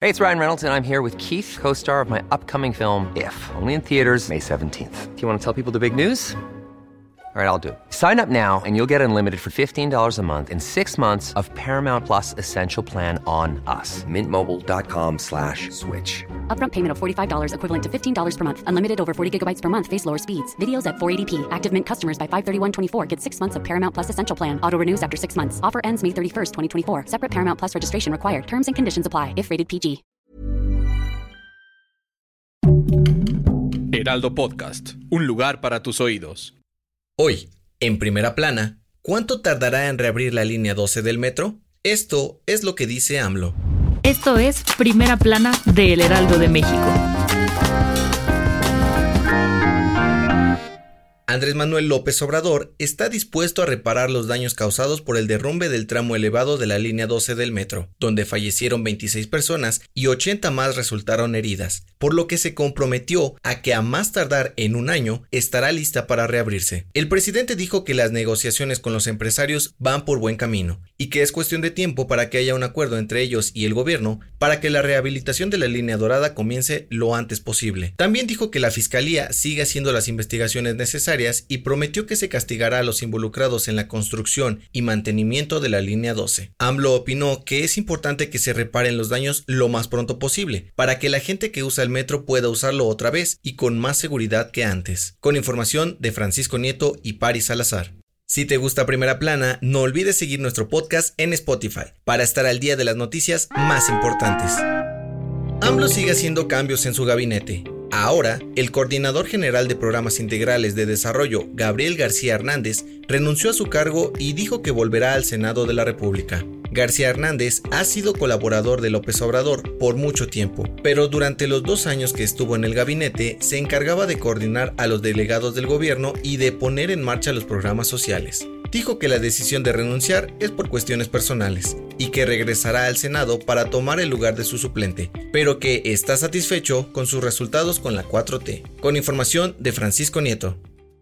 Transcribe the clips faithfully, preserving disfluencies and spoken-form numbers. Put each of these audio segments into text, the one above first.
Hey, it's Ryan Reynolds, and I'm here with Keith, co-star of my upcoming film, If, only in theaters May seventeenth. Do you want to tell people the big news? All right, I'll do it. Sign up now and you'll get unlimited for fifteen dollars a month and six months of Paramount Plus Essential Plan on us. Mint Mobile dot com slash switch. Upfront payment of forty-five dollars equivalent to fifteen dollars per month. Unlimited over forty gigabytes per month. Face lower speeds. Videos at four eighty p. Active Mint customers by five thirty-one twenty-four get six months of Paramount Plus Essential Plan. Auto renews after six months. Offer ends May thirty-first, twenty twenty-four. Separate Paramount Plus registration required. Terms and conditions apply if rated P G. Heraldo Podcast. Un lugar para tus oídos. Hoy, en Primera Plana, ¿cuánto tardará en reabrir la línea doce del metro? Esto es lo que dice AMLO. Esto es Primera Plana de El Heraldo de México. Andrés Manuel López Obrador está dispuesto a reparar los daños causados por el derrumbe del tramo elevado de la línea doce del metro, donde fallecieron veintiséis personas y ochenta más resultaron heridas, por lo que se comprometió a que a más tardar en un año estará lista para reabrirse. El presidente dijo que las negociaciones con los empresarios van por buen camino y que es cuestión de tiempo para que haya un acuerdo entre ellos y el gobierno para que la rehabilitación de la línea dorada comience lo antes posible. También dijo que la Fiscalía sigue haciendo las investigaciones necesarias y prometió que se castigará a los involucrados en la construcción y mantenimiento de la línea doce. AMLO opinó que es importante que se reparen los daños lo más pronto posible, para que la gente que usa el metro pueda usarlo otra vez y con más seguridad que antes. Con información de Francisco Nieto y Paris Salazar. Si te gusta Primera Plana, no olvides seguir nuestro podcast en Spotify para estar al día de las noticias más importantes. AMLO sigue haciendo cambios en su gabinete. Ahora, el coordinador general de Programas Integrales de Desarrollo, Gabriel García Hernández, renunció a su cargo y dijo que volverá al Senado de la República. García Hernández ha sido colaborador de López Obrador por mucho tiempo, pero durante los dos años que estuvo en el gabinete se encargaba de coordinar a los delegados del gobierno y de poner en marcha los programas sociales. Dijo que la decisión de renunciar es por cuestiones personales y que regresará al Senado para tomar el lugar de su suplente, pero que está satisfecho con sus resultados con la cuatro T. Con información de Francisco Nieto.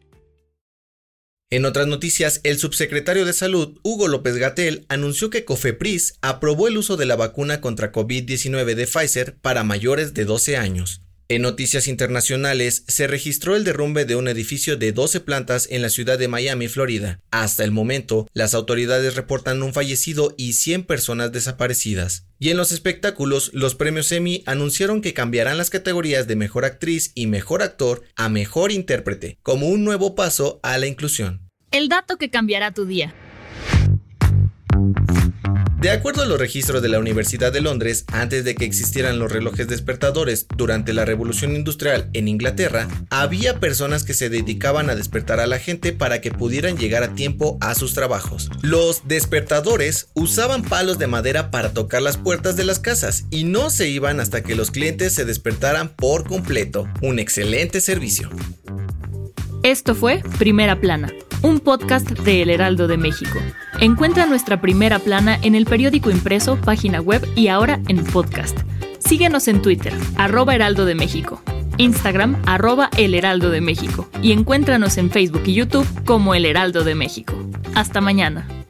En otras noticias, el subsecretario de Salud, Hugo López-Gatell, anunció que COFEPRIS aprobó el uso de la vacuna contra covid diecinueve de Pfizer para mayores de doce años. En noticias internacionales, se registró el derrumbe de un edificio de doce plantas en la ciudad de Miami, Florida. Hasta el momento, las autoridades reportan un fallecido y cien personas desaparecidas. Y en los espectáculos, los premios Emmy anunciaron que cambiarán las categorías de Mejor Actriz y Mejor Actor a Mejor Intérprete, como un nuevo paso a la inclusión. El dato que cambiará tu día. De acuerdo a los registros de la Universidad de Londres, antes de que existieran los relojes despertadores durante la Revolución Industrial en Inglaterra, había personas que se dedicaban a despertar a la gente para que pudieran llegar a tiempo a sus trabajos. Los despertadores usaban palos de madera para tocar las puertas de las casas y no se iban hasta que los clientes se despertaran por completo. Un excelente servicio. Esto fue Primera Plana, un podcast de El Heraldo de México. Encuentra nuestra Primera Plana en el periódico impreso, página web y ahora en podcast. Síguenos en Twitter, arroba Heraldo de México, Instagram, arroba El Heraldo de México y encuéntranos en Facebook y YouTube como El Heraldo de México. Hasta mañana.